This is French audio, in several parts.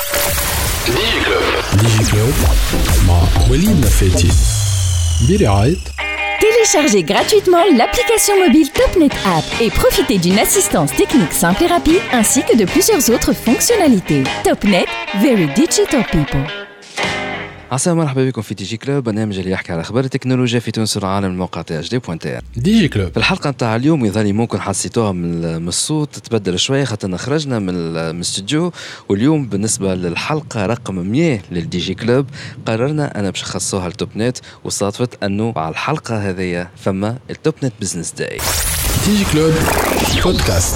ديجي كلوب مع وليد نفاتي برعاية. Téléchargez gratuitement l'application mobile TopNet App et profitez d'une assistance technique simple et rapide ainsi que de plusieurs autres fonctionnalités. TopNet, very digital people. عسلامة مرحبا بكم في ديجي كلوب، برنامج اللي يحكي على اخبار التكنولوجيا في تونس والعالم. الموقع تاع جدي.tr. ديجي كلوب في الحلقه نتاع اليوم يظل ممكن حسيتوها من الصوت تبدل شويه خاطرنا خرجنا من الاستوديو، واليوم بالنسبه للحلقه رقم 100 للديجي كلوب قررنا انا باش نخصوها لتوب نت، وصادفت انه على الحلقه هذه فما التوب نت بزنس داي. ديجي كلوب بودكاست.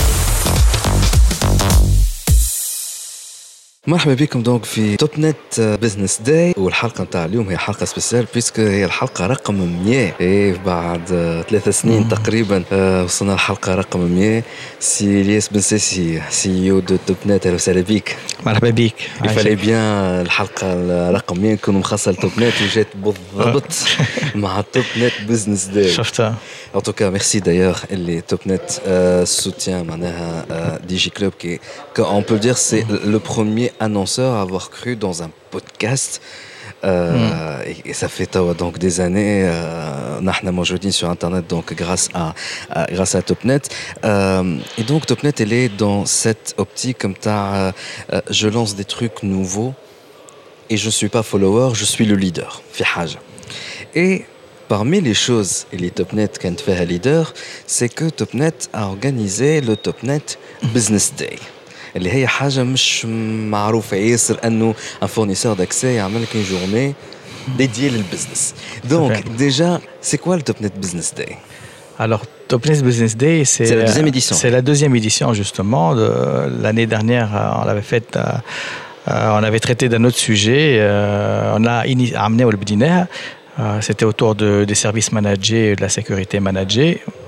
مرحبا بكم دونك في توب نت بزنس داي، والحلقه نتاع اليوم هي حلقه سبيسيال بيسك هي الحلقه رقم 100. بعد 3 سنين تقريبا وصلنا الحلقه رقم 100. سي الياس بن ساسي سي او دو توب نت، اهلا وسهلا بك. مرحبا بك. يفالي بيان الحلقه رقم 100 نكونوا مخصصه لتوب نت وجات بالضبط مع توب نت بزنس داي. شفتها. En tout cas, merci d'ailleurs les Topnet soutient Digi Club qui, on peut le dire, c'est le premier annonceur à avoir cru dans un podcast. Et ça fait donc des années, nous sommes sur Internet donc grâce à Topnet. Et donc Topnet, elle est dans cette optique comme ça, je lance des trucs nouveaux et je suis pas follower, je suis le leader. في حاجة. Et parmi les choses et les Topnet qu'ont fait un leader, c'est que Topnet a organisé le Topnet Business Day. اللي هي حاجة مش معروفة ياسر أنه un fournisseur d'accès يعمل لك une journée dédiée للbusiness. Donc déjà, c'est quoi le Topnet Business Day? Alors, Topnet Business Day, c'est la deuxième édition. C'est la deuxième édition justement. L'année dernière, on l'avait faite. On avait traité d'un autre sujet. On a amené au Bdina. C'était autour des services managés et de la sécurité managée.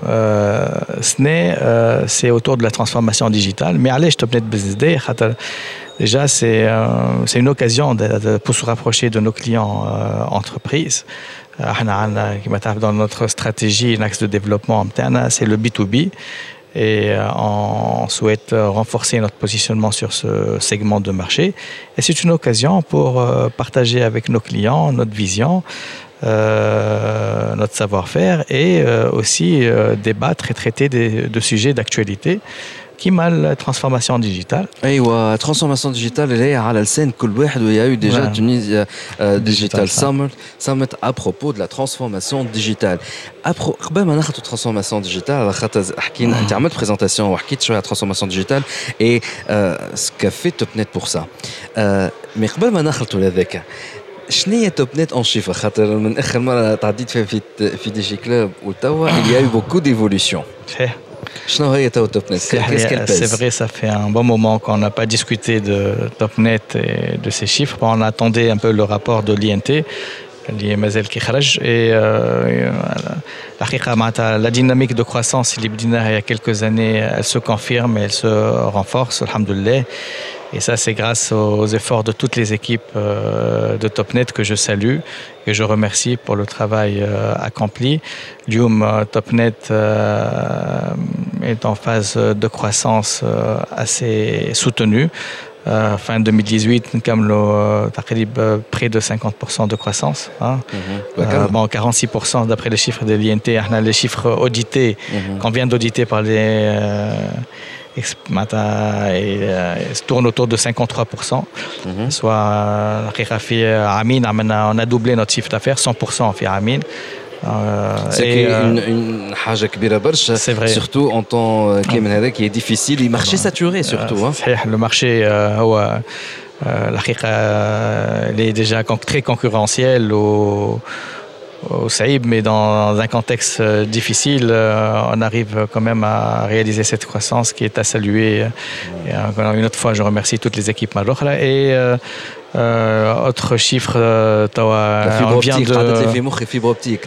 C'est autour de la transformation digitale. Mais allez, Topnet Business Day, déjà, c'est une occasion pour se rapprocher de nos clients entreprises. Dans notre stratégie, un axe de développement interne, c'est le B2B. Et on souhaite renforcer notre positionnement sur ce segment de marché. Et c'est une occasion pour partager avec nos clients notre vision, notre savoir-faire et aussi débattre et traiter de sujets d'actualité qui m'a la transformation digitale. ايوه transformation digitale اللي هي على لسان كل واحد. ويا يو ديجا تونيزيا ديجيتال سامت à propos de la transformation digitale. قبل ما ناخذ transformation digitale على خاطر حكينا انت عملت بريزونطاسيون وحكيت شويه على transformation digitale et ce qu'a fait Topnet pour ça. mais قبل ما ناخذ هذاك شنو هي توب نت اون شيفر؟ خاطر من اخر مره تعديت فيها في دي جي كلوب وتوا il y a eu beaucoup d'évolution. شنو هي توب نت؟ C'est vrai, ça fait un bon moment qu'on n'a pas discuté de Topnet et de ces chiffres. On attendait un peu le rapport de l'INT اللي مازال كي خرج. et الحقيقه معناتها la dynamique de croissance اللي بديناها il y a quelques années, elle se confirme et elle se renforce alhamdoulilah. Et ça, c'est grâce aux efforts de toutes les équipes de Topnet que je salue et je remercie pour le travail accompli. L'IUM Topnet est en phase de croissance assez soutenue. Fin 2018, nous avons près de 50% de croissance. Hein. Bon, 46% d'après les chiffres de l'INT. Les chiffres audités, qu'on vient d'auditer par les... se tourne autour de 53%. Soit on a doublé notre chiffre d'affaires, 100% في عامين. C'est une حاجة كبيرة برشا. C'est vrai. Surtout en temps qui est difficile, le marché saturé surtout. Le marché هو الحقيقة il est déjà très concurrentiel au Saïb, mais dans un contexte difficile, on arrive quand même à réaliser cette croissance qui est à saluer. Et une autre fois, je remercie toutes les équipes marocaines. Et autre chiffre, on vient de... La fibre optique,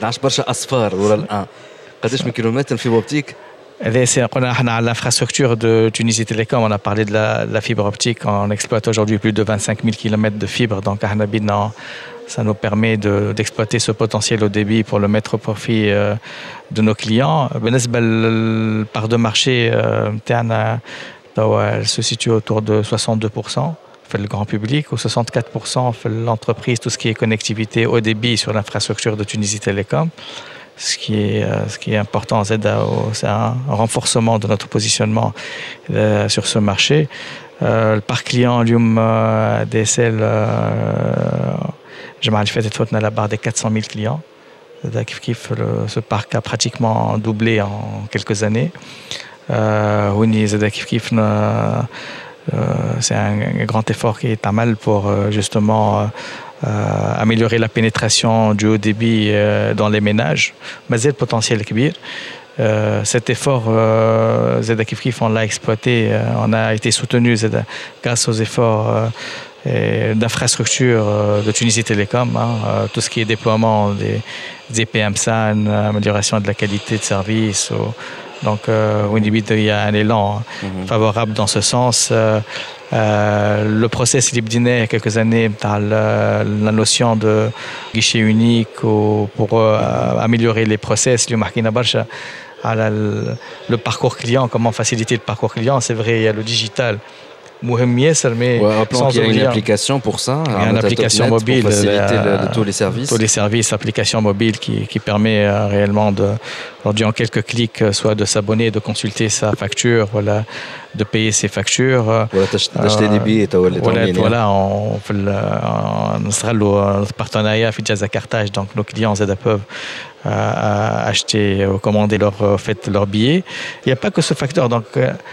fibre optique. L'infrastructure de Tunisie Télécom, on a parlé de la fibre optique. On exploite aujourd'hui plus de 25 000 km de fibre. Donc, ça nous permet d'exploiter ce potentiel au débit pour le mettre au profit de nos clients. La part de marché, elle se situe autour de 62%. fait le grand public, ou 64% fait l'entreprise, tout ce qui est connectivité haut débit sur l'infrastructure de Tunisie Télécom. Ce qui est important, c'est un renforcement de notre positionnement sur ce marché. Le parc client, DSL, j'ai mal fait à la barre des 400 000 clients. Ce parc a pratiquement doublé en quelques années. C'est un grand effort qui est à mal pour justement améliorer la pénétration du haut débit dans les ménages. Mais c'est le potentiel kbir. Cet effort, on l'a exploité, on a été soutenu grâce aux efforts d'infrastructures de Tunisie Télécom, tout ce qui est déploiement des PMSAN, amélioration de la qualité de service. Donc, il y a un élan favorable dans ce sens. Le process il il y a quelques années la notion de guichet unique pour améliorer les process. Le parcours client, comment faciliter le parcours client. C'est vrai, il y a le digital. Mais sans il y a une application pour ça. Il y a une application mobile pour faciliter tous les services. Tous les services, application mobile qui permet réellement aujourd'hui en quelques clics, soit de s'abonner, de consulter sa facture, voilà, de payer ses factures. D'acheter des billets. Voilà, on sera le partenariat avec Jazakartage, donc nos clients peuvent acheter, commander leurs billets. Il n'y a pas que ce facteur. Donc,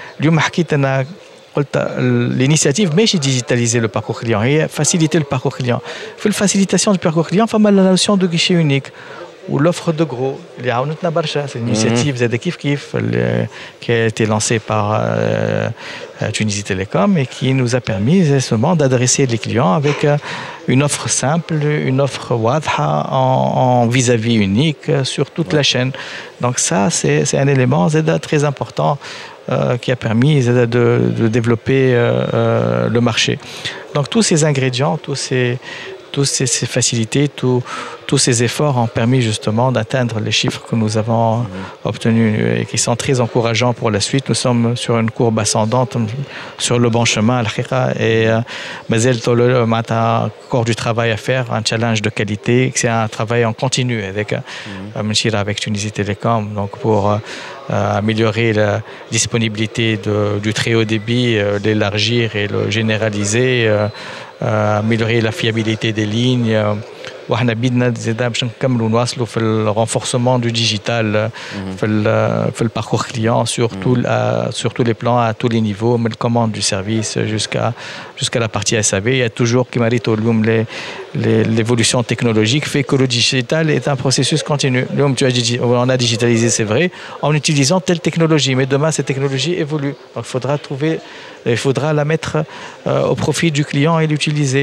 l'initiative mais c'est digitaliser le parcours client et faciliter le parcours client. Pour la facilitation du parcours client, il y a la notion de guichet unique ou l'offre de gros. C'est une initiative qui a été lancée par Tunisie Télécom et qui nous a permis justement d'adresser les clients avec une offre simple, une offre wadha en vis-à-vis unique sur toute la chaîne. Donc ça, c'est un élément très important qui a permis de développer le marché. Donc tous ces ingrédients, tous ces facilités, tous ces efforts ont permis justement d'atteindre les chiffres que nous avons obtenus et qui sont très encourageants pour la suite. Nous sommes sur une courbe ascendante, sur le bon chemin, et Mazel Tolo a encore du travail à faire, un challenge de qualité. C'est un travail en continu avec Tunisie Télécom, donc pour améliorer la disponibilité du très haut débit, l'élargir et le généraliser, améliorer la fiabilité des lignes. وإحنا بدنا زيادة باش نكملوا نواصلوا في الrenforcement du digital في الparcours client sur tous les plans, à tous les niveaux, من commande du service jusqu'à la partie SAV. Il y a toujours qui mérite l'évolution technologique fait que le digital est un processus continu. On a digitalisé, c'est vrai, en utilisant telle technologie, mais demain cette technologie évolue. Donc il faudra la mettre au profit du client et l'utiliser.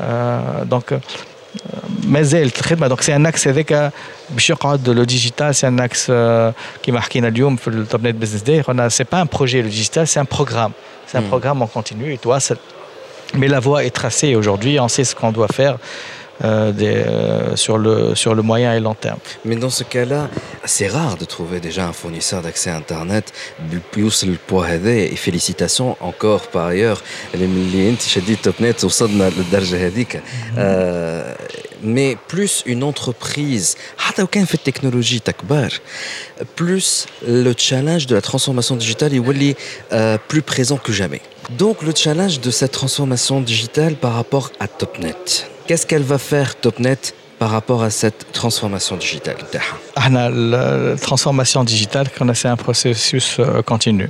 Donc c'est un axe avec le digital, c'est un axe qui marque في التوبنت Business Day. C'est pas un projet, le digital, c'est un programme. C'est un programme en continu. Mais la voie est tracée aujourd'hui, on sait ce qu'on doit faire sur le moyen et long terme. Mais dans ce cas-là, c'est rare de trouver déjà un fournisseur d'accès à Internet plus le poids et félicitations encore par ailleurs اللي انت شديد توبنت وصلنا للدرجة هذيك. Mais plus une entreprise حتى وكان في التكنولوجيا تكبر plus le challenge de la transformation digitale يولي plus présent que jamais. Donc le challenge de cette transformation digitale par rapport à Topnet. Qu'est-ce qu'elle va faire Topnet par rapport à cette transformation digitale? La transformation digitale, c'est un processus continu.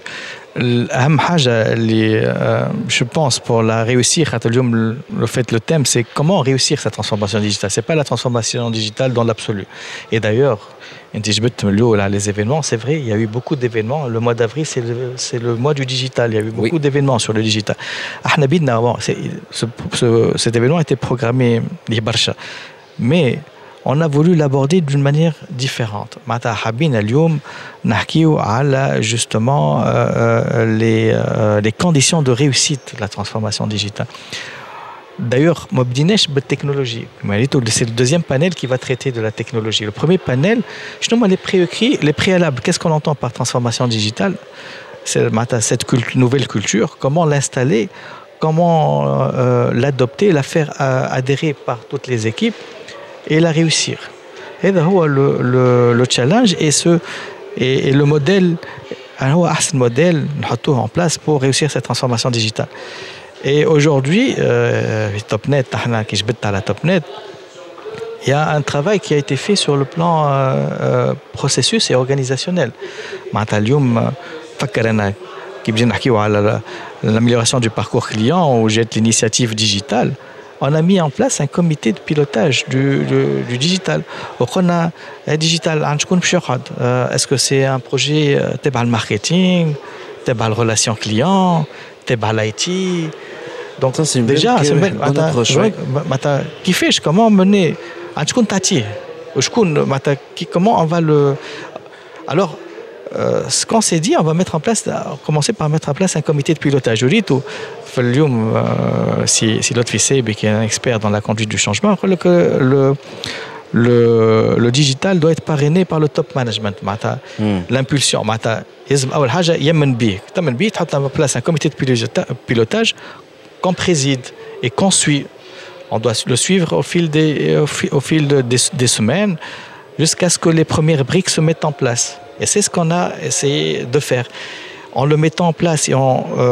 Je pense pour la réussir, le thème c'est comment réussir cette transformation digitale. C'est pas la transformation digitale dans l'absolu. Et d'ailleurs, les événements, c'est vrai, il y a eu beaucoup d'événements. Le mois d'avril, c'est le mois du digital. Il y a eu beaucoup d'événements sur le digital. Cet événement était programmé, mais on a voulu l'aborder d'une manière différente. Justement les conditions de réussite de la transformation digitale. D'ailleurs, technologie. C'est le deuxième panel qui va traiter de la technologie. Le premier panel, justement, les préalables. Qu'est-ce qu'on entend par transformation digitale? C'est cette nouvelle culture. Comment l'installer? comment l'adopter, la faire adhérer par toutes les équipes et la réussir. Et c'est le challenge et le modèle, هو أحسن modèle نحطوه en place pour réussir cette transformation digitale. Et aujourd'hui, TopNet, احنا كي جبت على TopNet, il y a un travail qui a été fait sur le plan processus et organisationnel. معناتها اليوم فكر أنا كي بدينا نحكيو على l'amélioration du parcours client ou jette l'initiative digitale, on a mis en place un comité de pilotage du digital. On a digital, est-ce que c'est un projet تبع الماركتينغ, تبع الرelation client, تبع l'IT. Donc ça, c'est déjà c'est une bonne approche. كيفاش comment mener شكون تعطيه وشكون comment on va le. Alors ce qu'on s'est dit, on va commencer par mettre en place un comité de pilotage. Si l'autre Fissé, qui est un expert dans la conduite du changement, que le digital doit être parrainé par le top management. L'impulsion. Il y a en place un comité de pilotage qu'on préside et qu'on suit. On doit le suivre au fil des semaines jusqu'à ce que les premières briques se mettent en place. Et c'est ce qu'on a essayé de faire. En le mettant en place et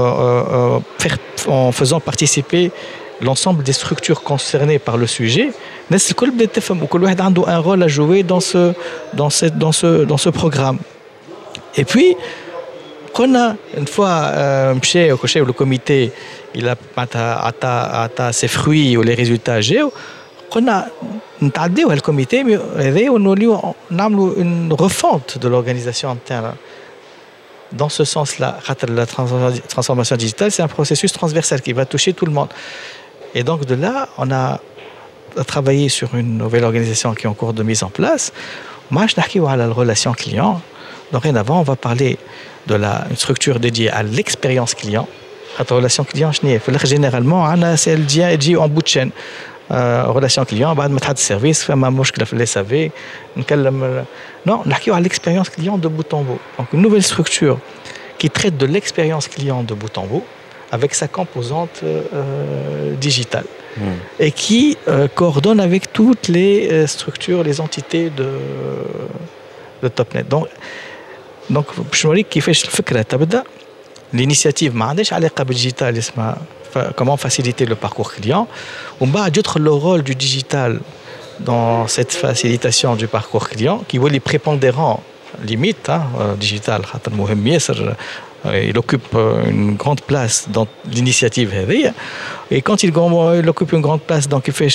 en faisant participer l'ensemble des structures concernées par le sujet, il a un rôle à jouer dans ce programme. Et puis, une fois le comité il a atteint ses fruits ou les résultats قلنا نتعديو هالكوميتي هذا ونوليو نعملوا une refonte de l'organisation interne. Dans ce sens-là, la transformation digitale, c'est un processus transversal qui va toucher tout le monde. Et donc de là, on a travaillé sur une nouvelle organisation qui est en cours de mise en place. Moi, je n'ai pas la relation client. Dorénavant, on va parler de une structure dédiée à l'expérience client. La relation client, généralement, c'est elle dit en bout de chaîne. relation client بعد ما تحط السيرفيس فما مشكله في الاس في نكلم نحكيو على l'expérience client de bout en bout. Donc une nouvelle structure qui traite de l'expérience client de bout en bout avec sa composante digitale et qui coordonne avec toutes les structures, les entités de TopNet. Donc باش نوريك كيفاش الفكره تبدا. L'initiative ما عندهاش علاقه بالديجيتال اسمها comment faciliter le parcours client. On va ajouter le rôle du digital dans cette facilitation du parcours client qui est prépondérant limite digital. Il occupe une grande place dans l'initiative et quand il occupe une grande place donc il fait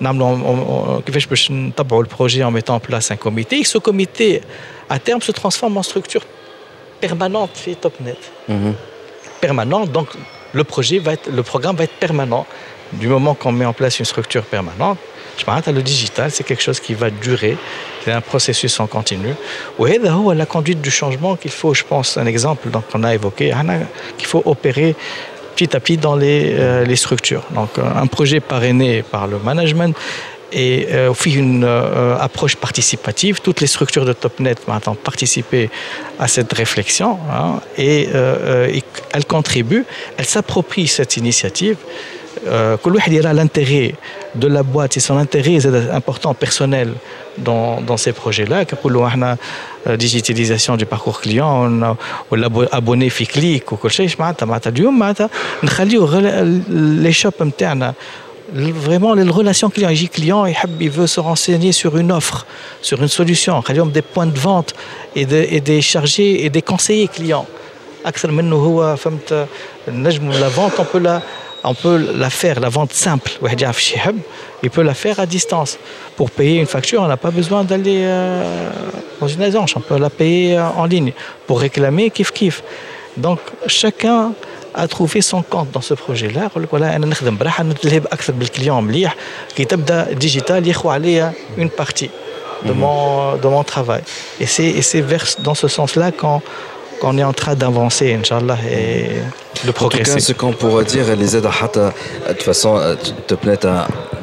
le projet en mettant en place un comité. Et ce comité à terme se transforme en structure permanente chez TopNet. Permanente, donc le programme va être permanent du moment qu'on met en place une structure permanente. Je pense que le digital, c'est quelque chose qui va durer, c'est un processus en continu. Et c'est la conduite du changement qu'il faut, je pense, un exemple qu'on a évoqué, qu'il faut opérer petit à petit dans les structures. Donc un projet parrainé par le management et une approche participative. Toutes les structures de TopNet maintenant participer à cette réflexion et elles contribuent, elles s'approprient cette initiative. كل واحد يرى l'intérêt de la boîte et son intérêt important personnel dans ces projets-là. كنقولوا احنا digitalisation du parcours client ولا abonné في كليك وكل شيء معناتها اليوم معناتها نخليو les shops نتاعنا vraiment les relations client il veut se renseigner sur une offre, sur une solution, des points de vente et des chargés et des conseillers clients. أكثر منه هو فهمت النجم la vente on peut la faire, la vente simple. Il peut la faire à distance. Pour payer une facture, on n'a pas besoin d'aller dans une agence. On peut la payer en ligne. Pour réclamer, kiff. Donc, chacun a trouvé son compte dans ce projet-là. أنا نخدم براحة نتلهب أكثر بالكليون مليح كي تبدأ ديجيتال يخو عليها une partie de mon travail. Et c'est dans ce sens-là qu'on est en train d'avancer, Inch'Allah, et de progresser. En tout cas, ce qu'on pourrait dire, les aides de toute façon, TopNet a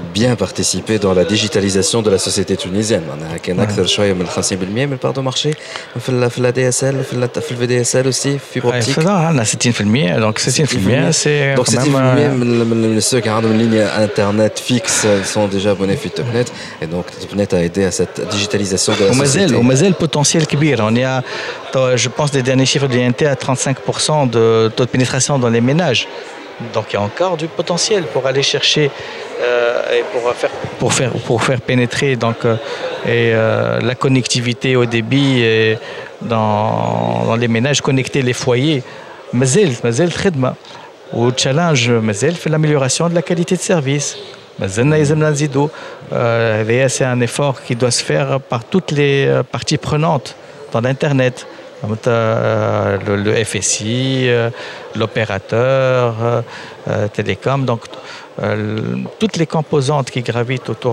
bien participé dans la digitalisation de la société tunisienne. معناها كان أكثر شوية من 50% من البار دو مارشي في لا دي اس ال في الفي دي اس ال aussi fibre optique. عندنا 60% donc 60% c'est donc 60% من ceux qui ont une ligne internet fixe sont déjà abonnés à Topnet et donc Topnet a aidé à cette digitalisation de la société. ومازال potentiel كبير. On est à, je pense des derniers chiffres de l'INT à 35% de taux de pénétration dans les ménages. Donc il y a encore du potentiel pour aller chercher et pour faire pénétrer donc la connectivité au débit et dans les ménages, connecter les foyers. مازال خدمة والchallenge مازال في l'amélioration de la qualité de service. مازلنا يلزمنا نزيدو. C'est un effort qui doit se faire par toutes les parties prenantes dans l'internet. Le FSI, l'opérateur, télécom, donc toutes les composantes qui gravitent autour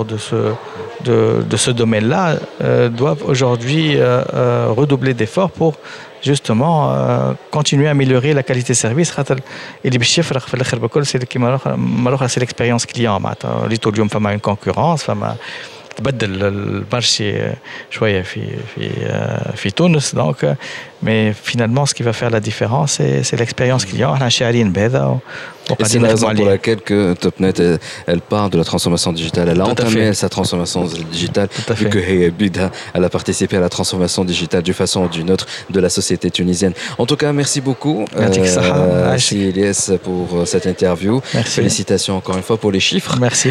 de ce domaine-là doivent aujourd'hui redoubler d'efforts pour justement continuer à améliorer la qualité de service. Et les chiffres في الآخر بكل c'est l'expérience client. اللي طول اليوم فما une concurrence, فما تبدل المارشي شويه في تونس دونك mais finalement ce qui va faire la différence c'est l'expérience client. احنا شاعرين بهذا. Et c'est la raison pour laquelle que Topnet elle part de la transformation digitale. Elle a entamé sa transformation digitale vu que elle a participé à la transformation digitale d'une façon ou d'une autre de la société tunisienne. En tout cas, merci beaucoup Elias pour cette interview. Merci. Félicitations encore une fois pour les chiffres. Merci.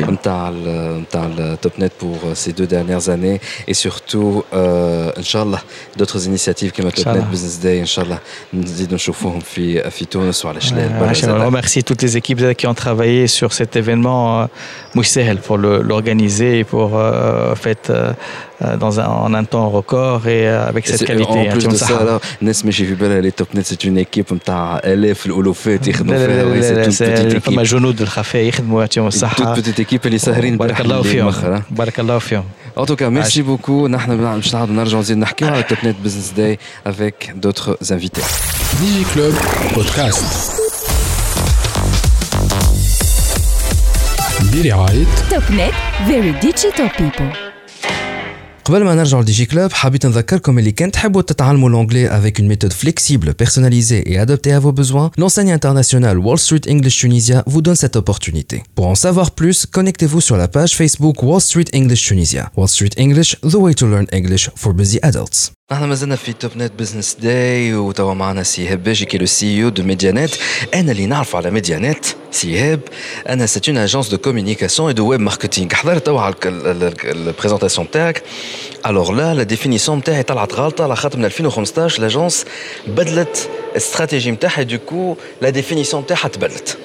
Topnet pour ces 2 dernières années et surtout Inch'Allah d'autres initiatives comme Topnet Business Day Inch'Allah نزيدوا نشوفوهم في تونس وعلى شلال. Je remercie toutes les équipes qui ont travaillé sur cet événement Moussel pour l'organiser et pour en un temps record et avec cette qualité. En plus de ça, الناس ماشي في بالها Topnet c'est une équipe نتاع آلاف الألوفات يخدموا فيها. c'est فما جنود الخفاء يخدموا يعطيهم الصحة. toute petite équipe اللي ساهرين بارك الله فيهم. بارك الله فيهم. En tout cas, merci beaucoup. نحن باش نعاودوا نرجعوا نزيد نحكيوا على Topnet Business Day avec d'autres invités. DigiClub Podcast. برعاية Topnet, very digital people. قبل ما نرجع لديجي كلوب حبيت نذكركم اللي كان تحبوا تتعلموا l'anglais avec une méthode flexible, personnalisée et adaptée à vos besoins, l'enseigne internationale Wall Street English Tunisia vous donne cette opportunité. Pour en savoir plus, connectez-vous sur la page Facebook Wall Street English Tunisia. Wall Street English, the way to learn English for busy adults. احنا مازلنا في توب نت بزنس داي وتوا معنا سي ايهاب باجي كي لو سي او دو ميديانيت. انا اللي نعرف على ميديانيت سي ايهاب انا سيت اون اجونس دو كومونيكاسيون اي دو ويب ماركتينغ. حضرت توا على البريزونطاسيون تاعك. الوغ لا ديفينيسيون تاعي طلعت غلطه على خاطر من 2015 لاجونس بدلت الاستراتيجي نتاعها دوكو لا ديفينيسيون تاعها تبدلت.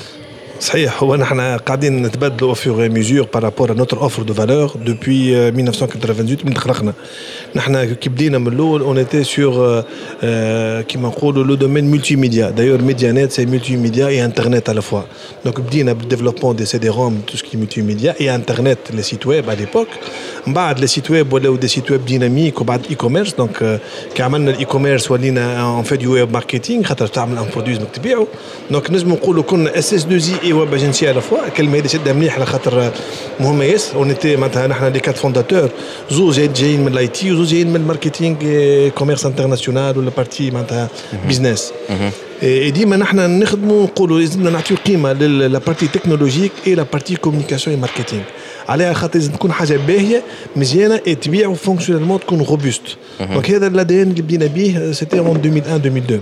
صحيح هو نحن قاعدين نتبادلوا او فور ميزور بارابور ا نوتر اوفر دو فالور دوبوي 1998 من خلقنا. نحن كي بدينا من الاول اون ايتي سور كيما نقولوا لو دومين ملتي ميديا. دايور ميديانيت سي ملتي ميديا اي انترنت على فوا. دونك بدينا بالديفلوبمون دي سي دي روم تو سكي ملتي ميديا اي انترنت لي سيت ويب على ليبوك. من بعد لي سيت ويب ولاو دي سيت ويب ديناميك وبعد اي كوميرس. دونك كي عملنا الاي كوميرس ولينا ان فيت ويب ماركتينغ خاطر تعمل ان برودوي بدك تبيعه. دونك نجم نقولوا كنا اس اس 2 اي ويب اجنسي على فوا. الكلمه هذه شدها مليح على خاطر مهمه ياسر. اونيتي معناتها نحن لي كات فونداتور زوج جايين من الاي تي وزوج جايين من الماركتينغ كوميرس انترناسيونال ولا بارتي معناتها بيزنس. ديما نحن نخدموا نقولوا لازمنا نعطيو قيمه للبارتي تكنولوجيك اي لا بارتي كومونيكاسيون ماركتينغ. عليها خاطر لازم تكون حاجه باهيه مزيانه تبيع فونكسيونيلمون تكون روبوست. دونك هذا الادين اللي بدينا به سيتي اون 2001 2002.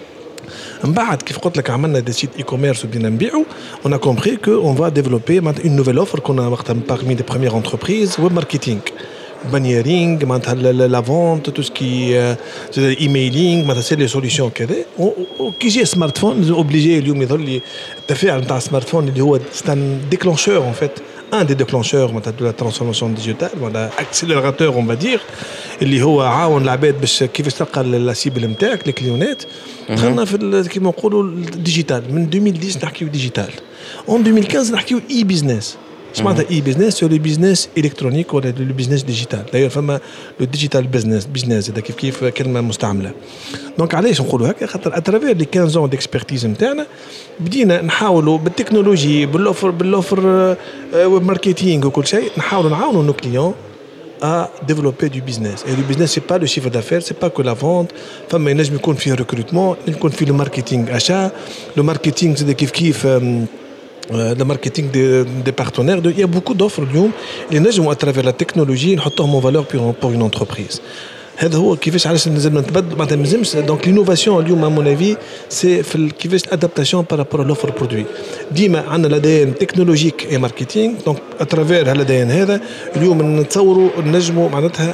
من بعد كيف قلت لك عملنا دي سيت اي كوميرس وبدينا نبيعوا. on a compris que on va développer une nouvelle offre qu'on a وقتها parmi les premières entreprises web marketing. بانييرينغ معناتها لا فونت تو سكي ايميلينغ معناتها سي لي سوليسيون كذا. وكي جي سمارت فون اوبليجي اليوم يظل لي التفاعل نتاع السمارت فون اللي هو ستان ديكلونشور اون فيت un des déclencheurs de la transformation digitale ولا accélérateur on va dire اللي هو عاون العباد باش كيفاش تلقى لا سيبل نتاعك الكليونات. دخلنا في كيما نقولوا الديجيتال من 2010 نحكيو ديجيتال. en 2015 نحكيو اي بيزنس معناتها اي بيزنس سو لو بيزنس الكترونيك ولا لو بيزنس ديجيتال داير فما لو ديجيتال بيزنس هذا كيف كلمه مستعمله دونك علاش نقولوا هكا خاطر اترافير لي 15 ans ديكسبرتيز نتاعنا بدينا نحاولوا بالتكنولوجي بالوفر ماركتينغ وكل شيء نحاولوا نعاونوا نو كليون à développer du business. Et le business, c'est pas le chiffre d'affaires, c'est pas que la vente. Enfin, mais il y a le recrutement, il y a le marketing achat, le marketing c'est des kiff le marketing des partenaires. Il y a beaucoup d'offres les gens à travers la technologie نحطهم en valeur pour une entreprise. هذا هو كيفاش علاش لازم نتبدل معناتها مازمش دونك لينوفاسيون اليوم ا مون افي سي في كيفاش الادابتاسيون بارابور لوفر برودوي ديما عندنا لدينا تكنولوجيك اي ماركتينغ دونك اترافير هالدين هذا اليوم نتصوروا نجموا معناتها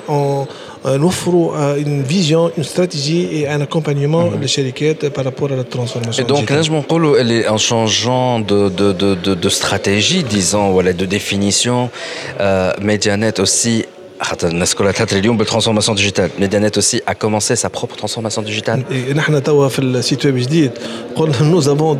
نوفروا une vision une stratégie et un accompagnement للشركات بارابور على الترانسفورماسيون دونك نجموا نقولوا اللي en changeant de stratégie disons ولا de définition Medianet aussi الناس كلها تهتر اليوم بالترانسفورماسيون ديجيتال ميديانيت aussi a commencé sa propre transformation digitale. نحن توا في السيت ويب جديد قلنا nous avons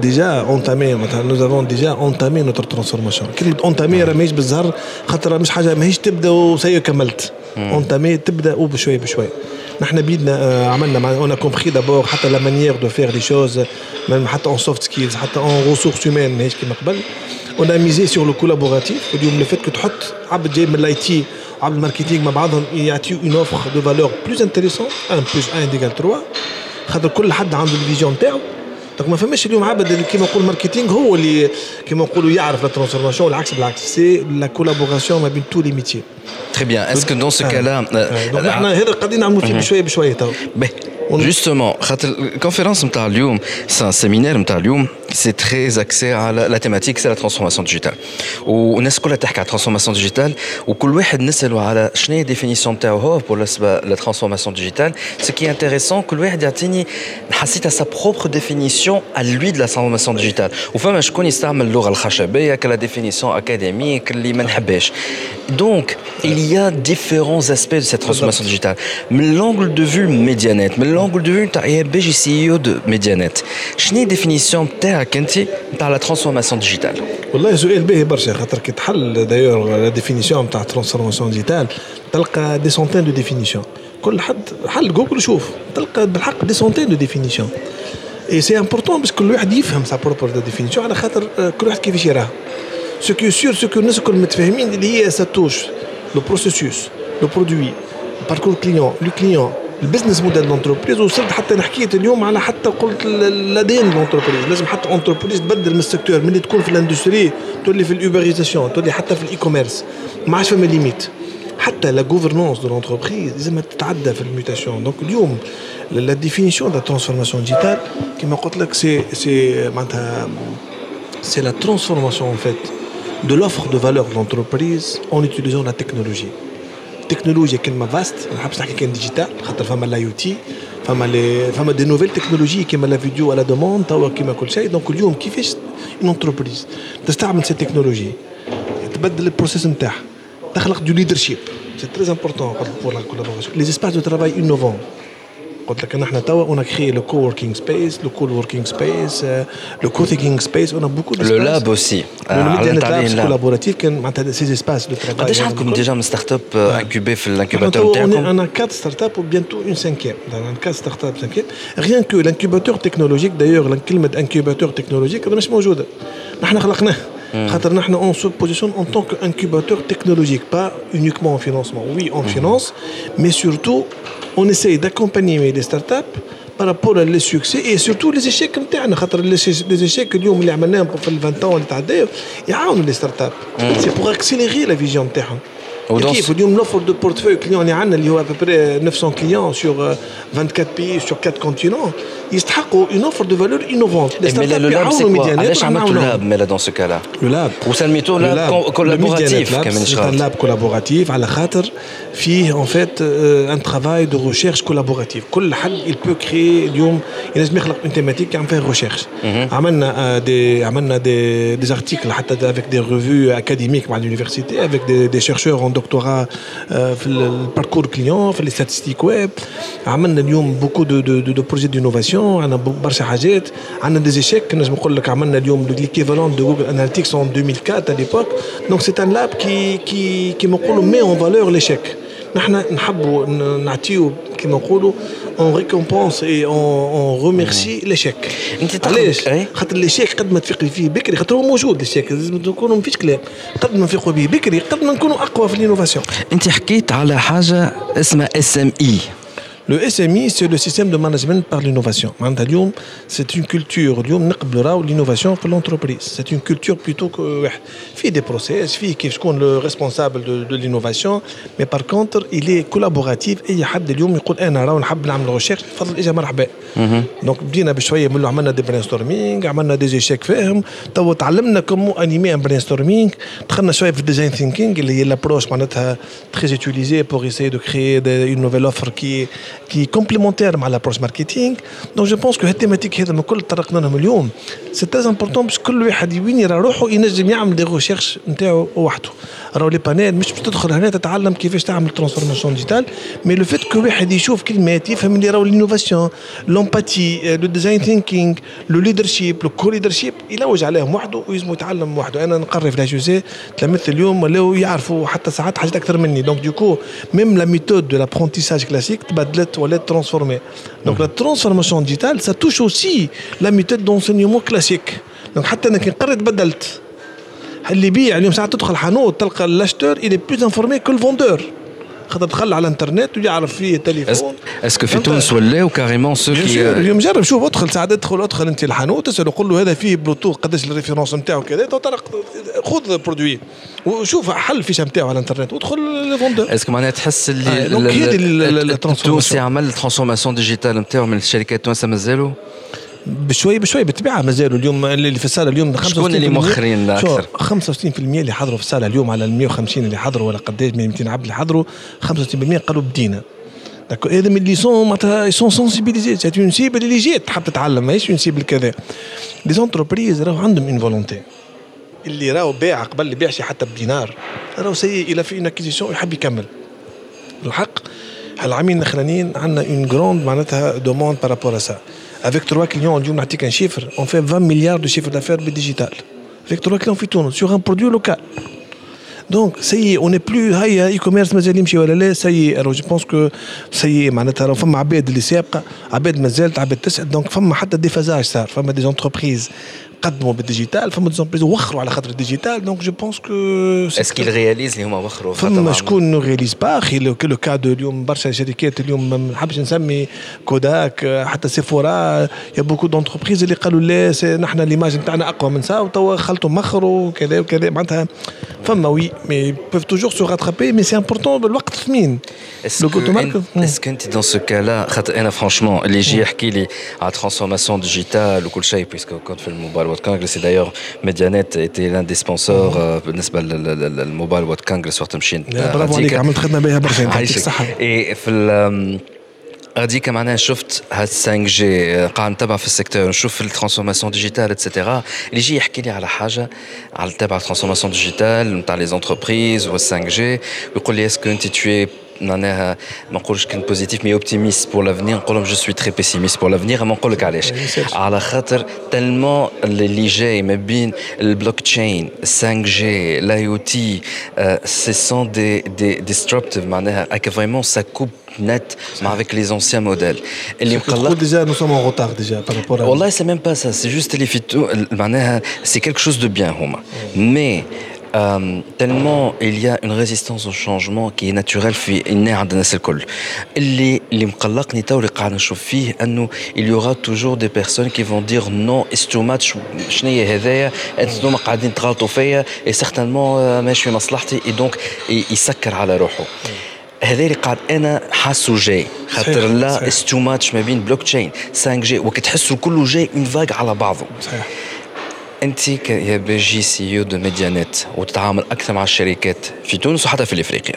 déjà entamé notre transformation. كلمة entamé راه ماهيش بالزهر خاطر مش حاجة ماهيش تبدا وسي كملت. entamé تبدا وبشوي بشوي. نحن بيدنا عملنا on a compris d'abord حتى la manière de faire les choses même حتى en soft skills حتى en ressources humaines ماهيش كما قبل. On a misé sur le collaboratif. اليوم le fait que تحط عبد جاي من الاي عبد الماركتينغ مع بعضهم يعطيو اون اوفر دو فالور بلوز انتريسون 1 + 1 = 3 خاطر كل حد عنده الفيجن تاعو دونك ما فماش اليوم عبد كيما نقول ماركتينغ هو اللي كيما نقولوا يعرف لا ترانسفورماسيون بالعكس سي لا كولابوراسيون ما بين تو لي ميتيي. Très bien. Est-ce que dans ce cas-là دونك احنا هذا قاعدين نعملوا فيه بشويه بشويه تو. Justement, la conférence نتاع اليوم c'est un séminaire نتاع اليوم c'est très axé على la thématique c'est la transformation digitale. والناس كلها تحكي على transformation digitale وكل واحد نسأله على شنو هي définition نتاعو هو pour la transformation digitale. Ce qui est intéressant كل واحد يعطيني حسيت sa propre définition à lui de la transformation digitale. وفما شكون يستعمل اللغة الخشبية كلا définition académique اللي ما نحبهاش. Donc il y a différents aspects de cette transformation digitale. من l'angle de vue Medianet, من l'angle de vue نتاع IABG CEO de Medianet. شنو هي définition نتاعك انت نتاع la transformation digitale؟ والله سؤال باهي برشا خاطر كي تحل دايور لا ديفينيسيون نتاع ترانسفورماسيون ديجيتال تلقى دي سونتين دو ديفينيسيون كل حد حل جوجل شوف تلقى بالحق دي سونتين دو ديفينيسيون اي سي امبورطون باش كل واحد يفهم سا بروبر ديفينيسيون على خاطر كل واحد كيفاش يراها سو كو سور سو كو الناس الكل متفاهمين اللي هي ساتوش لو بروسيسوس لو برودوي باركور كليون لو كليون البزنس موديل دونتربريز وصلت حتى نحكيت اليوم على حتى قلت الادين دونتربريز لازم حتى انتربريز تبدل من السيكتور من اللي تكون في الاندستري تولي في الاوبريزاسيون تولي حتى في الاي كوميرس ما عادش فما ليميت حتى لا غوفرنانس دو لونتربريز لازم تتعدى في الميوتاسيون دونك اليوم لا ديفينيسيون دا ترانسفورماسيون ديجيتال كما قلت لك سي معناتها سي لا ترانسفورماسيون ان فيت de l'offre de valeur de l'entreprise en utilisant la technologie. Technologie كلمة vaste, نحب نحكي كان ديجيتال خاطر فما لا يو تي فما دي نوفيل تكنولوجي كيما لا فيديو على دوموند توا كيما كل شيء دونك اليوم كيفاش اون انتربريز تستعمل سي تكنولوجي تبدل البروسيس نتاعها تخلق دو ليدرشيب سي تري امبورطون بور لا كولابوراسيون لي اسباس دو ترافاي انوفون قلت لك نحن توا on a créé le co-working space, le co-working space, le co-thinking space, on a beaucoup d'espace. Le lab aussi. Le lab collaboratif كان معناتها ces espaces de travail. قداش عندكم ديجا من ستارت اب انكوبي في الانكوباتور نتاعكم؟ On a 4 startups ou bientôt une 5e. On a 4 startups 5e. Rien que l'incubateur technologique d'ailleurs كلمة incubateur technologique مش موجودة. نحن خلقناه. خاطر نحن on se positionne en tant qu'incubateur technologique, pas uniquement en financement. Oui, en finance, mais surtout on essaye d'accompagner les startups par rapport à les succès et surtout les échecs نتاعنا خاطر les échecs اليوم اللي عملناهم في ال 20 ans اللي تعداو يعاونوا les startups. C'est pour accélérer la vision نتاعهم. كيف اليوم l'offre de portefeuille client اللي عندنا اللي هو à peu près 900 clients sur 24 pays sur 4 continents يستحقوا une offre de valeur innovante. Les startups يعاونوا ميديانات. علاش عملتوا اللاب مالا dans ce cas-là؟ Le lab. وسميتوه لاب collaboratif كمان شغال. C'est un lab collaboratif على خاطر فيه en fait un travail de recherche collaborative. كل حد il peut créer اليوم ينجم يخلق une thématique يعمل فيها recherche. عملنا des articles حتى avec des revues académiques مع l'université avec des chercheurs en mon doctorat في الباركور كليون في لي ستاتستيك ويب. عملنا اليوم بوكو دو بروجي دينوفاسيون. عندنا برشا حاجات. عندنا دي ايشيك نجم نقول لك عملنا اليوم ليكيفالون دو جوجل اناليتيكس en 2004 à l'époque. Donc c'est un lab qui نقولوا met en valeur l'échec. نحن نحبوا نعطيو كما نقولوا on récompense et on remercie l'échec. علاش؟ خاطر l'échec قد ما تفيق فيه بكري خاطر هو موجود l'échec لازم نكونوا ما فيش كلام. قد ما نفيقوا به بكري قد ما نكونوا اقوى في الانوفاسيون. انت حكيت على حاجه اسمها SME. Le SMI, c'est le système de management par l'innovation. C'est une culture. L'innovation pour l'entreprise. C'est une culture plutôt que fait des process, fait qui est le responsable de l'innovation. Mais par contre, il est collaboratif. Et il y a des gens qui disent أنا نحب نعمل recherche. فضل إجا مرحبا. Donc بدينا بشوية من عملنا des brainstorming, عملنا des échecs فهم. تو تعلمنا comment animer un brainstorming. دخلنا شوية في design thinking اللي هي l'approche معناتها très utilisée pour essayer de créer une nouvelle offre qui est complémentaire à l'approche marketing. Donc je pense que cette thématique هذا من كل طرقنا لهم اليوم c'est très important باش كل واحد وين يرى روحه ينجم يعمل دي ريشيرش نتاعو وحده. راهو لي بانيل مش تدخل هنا تتعلم كيفاش تعمل ترانسفورماسيون ديجيتال مي لو فيت كو واحد يشوف كلمات يفهم اللي راهو الانوفاسيون لومباتي لو ديزاين ثينكينغ لو ليدرشيب لو كو ليدرشيب يلوج عليهم وحده ويزمو يتعلم وحده. انا نقرر في لا جوزي تلاميذ اليوم ولاو يعرفوا حتى ساعات حاجات اكثر مني. دونك دوكو ميم لا ميثود دو لابرونتيساج كلاسيك تبدلت ولا ترانسفورمي. دونك لا ترانسفورماسيون ديجيتال سا توش اوسي لا ميثود دونسينيومون كلاسيك. دونك حتى انا كي نقرر تبدلت اللي يبيع اليوم ساعات تدخل حانوت تلقى لاشتور il est plus informé que le vendeur. خاطر دخل على الانترنت ويعرف فيه تليفون. اسكو في تونس ولاو كاريمون سو كي اليوم جرب شوف ادخل ساعات ادخل انت الحانوت تسال قول له هذا فيه بلوتوث قداش الريفيرونس نتاعو كذا طرق خذ برودوي وشوف حل الفيش نتاعو على الانترنت وادخل للفوندور. اسكو معناها تحس اللي التونسي عمل الترانسفورماسيون ديجيتال نتاعو من الشركات التونسيه مازالوا بشوي بالطبيعه مازالوا اليوم اللي في الساله اليوم 65% اللي مؤخرين اكثر 65% اللي حضروا في الساله اليوم على ال 150 اللي حضروا ولا قداش 200 عبد اللي حضروا 65% قالوا بدينا. داكو هذا من اللي سون معناتها سون سونسيبيليزي سي اون سيبل اللي جات تحب تتعلم ماهيش اون سيبل كذا. لي زونتربريز راهو عندهم اون فولونتي اللي راهو باع قبل اللي بيعش حتى بدينار راهو سي الى في اكيزيسيون يحب يكمل. الحق العامين الاخرانيين عندنا اون غروند معناتها دوموند بارابور سا. Avec 3 clients, on dit un chiffre, on fait 20 milliards de chiffre d'affaires digital. Avec 3 clients, on fait tout sur un produit local. Donc, ça y est, on n'est plus e-commerce, mais ça y est, alors je pense que ça y est, معناتها فما عباد اللي سابقة، عباد مازالت، عباد تسعد، donc فما حتى déphasage صار، فما des entreprises قدموا بالديجيتال فما دي زونبريز وخروا على خاطر الديجيتال. دونك جو بونس كو اسكي رياليز اللي هما وخروا فما شكون نو رياليز با اخي لو كو اليوم برشا شركات اليوم ما نحبش نسمي كوداك حتى سيفورا يا بوكو دونتربريز اللي قالوا لا نحن ليماج نتاعنا اقوى من سا وتوا خلطوا مخروا وكذا وكذا معناتها فما وي مي بوف توجور سو راترابي مي سي امبورطون بالوقت ثمين. اسكو انت دون سو كالا خاطر انا فرانشمون اللي يجي يحكي لي على ترانسفورماسيون ديجيتال وكل شيء بيسكو كنت في الموبايل World Congress et d'ailleurs Medianet était l'un des sponsors بالنسبة للموبايل World Congress وقت مشينا. برافو عليك عملت خدمة بها برشا يعطيك الصحة. et في هذيك معناها شفت هاد 5G قاعد نتابع في السيكتور نشوف الترانسفورماسيون ديجيتال اتسيتيرا اللي يجي يحكي لي على حاجة على تبع الترانسفورماسيون ديجيتال نتاع لي زونتربريز و 5G ويقول لي اسكو انت tu es معناها ما نقولش كان بوزيتيف مي اوبتيميست بور لافنير نقول لهم جو سوي تري بيسيميست بور لافنير. ما نقول لك علاش على خاطر تالمون اللي جاي ما بين البلوك تشين 5G الاي او تي سي سون دي ديستربتيف معناها اك فريمون سا كوب net mais avec les anciens modèles اللي مقلق déjà nous sommes en retard déjà par rapport à والله c'est même pas ça c'est juste les phyto معناها c'est quelque chose de bien هما mais tellement il y a une résistance au changement qui est naturelle في الناس عند الناس الكل اللي مقلقني تو اللي قاعد نشوف فيه انه il y aura toujours des personnes qui vont dire non it's too much شنو هي هذايا انتم قاعدين تغلطوا فيا et certainement ماشي في مصلحتي et donc يسكر على روحه. هذا اللي قاعد انا حاسه جاي خاطر لا it's too much ما بين بلوك تشين 5G وكتحسوا كله جاي اون فاج على بعضه. صحيح. انت يا بيجي سي او دو ميديانيت وتتعامل اكثر مع الشركات في تونس وحتى في افريقيا.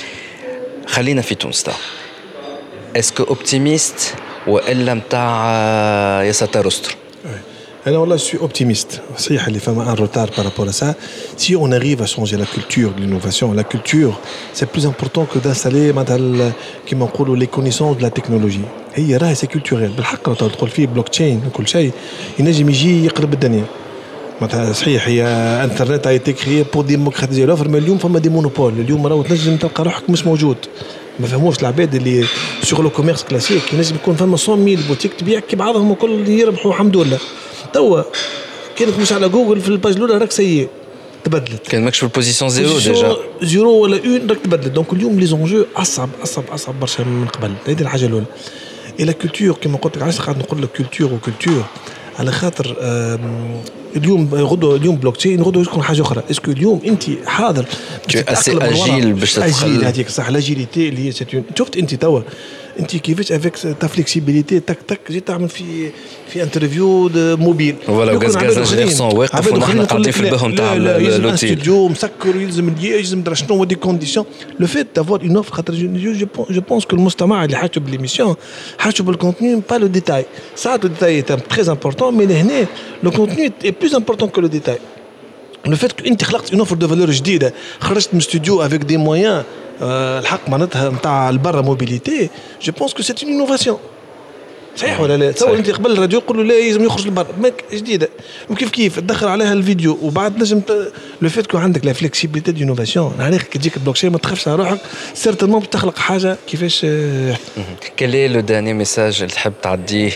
خلينا في تونس تا اسكو اوبتيميست والا نتاع يا ساتر استر؟ Alors là, je suis optimiste. صحيح اللي فما un retard par rapport à ça. Si on arrive à changer la culture de l'innovation, la culture, c'est plus important que d'installer مثلا كما نقولوا les connaissances de la technologie. هي راهي c'est culturel. بالحق لو تدخل فيه بلوك تشين وكل شيء ينجم يجي يقلب الدنيا. مثلا صحيح هي انترنت a été créé pour démocratiser l'offre mais اليوم فما دي مونوبول. اليوم راهو تنجم تلقى روحك مش موجود. ما فهموش العباد اللي سوغ لو كوميرس كلاسيك ينجم يكون فما 100,000 بوتيك تبيع كي بعضهم الكل يربحوا الحمد لله. توا كانت مش على جوجل في الباج الاولى راك سيء تبدلت كان ماكش في البوزيسيون زيرو ديجا زيرو ولا اون راك تبدلت دونك اليوم لي زونجو اصعب برشا من قبل. هذه الحاجه الاولى. اي لا كولتور كما قلت لك علاش قاعد نقول لك كولتور وكولتور على خاطر اليوم غدوه اليوم بلوك تشين غدوه يكون حاجه اخرى. اسكو اليوم انت حاضر اسي اجيل باش تدخل هذيك صح لاجيليتي اللي هي شفت انت توا انت كيفاش افيك تا فليكسيبيليتي تك تك جيت تعمل في انترفيو موبيل ولا غاز جيرسون واقف ونحن قاعدين في البهم تاع الاوتيل الاستوديو مسكر يلزم يلزم درا شنو دي كونديسيون لو فيت دافوار اون اوفر خاطر جو بونس كو المجتمع اللي حاجه بالميسيون حاجه بالكونتوني با لو ديتاي ساعات لو ديتاي تري امبورطون مي لهنا لو كونتوني اي بلوس امبورطون كو لو ديتاي لو فيت كو انت خلقت اون اوفر دو فالور جديده خرجت من استوديو افيك دي مويان الحق معناتها نتاع البرا موبيليتي جو بونس كو سي اون انوفاسيون صحيح ولا لا؟ تصور انت قبل الراديو يقولوا لا لازم يخرج للبر ماك جديده وكيف تدخل عليها الفيديو وبعد نجم لو فيت كو عندك لا فليكسيبيليتي دو انوفاسيون عليك كي تجيك البلوكشين ما تخافش على روحك سيرتينمون بتخلق حاجه كيفاش. كالي لو داني ميساج اللي تحب تعديه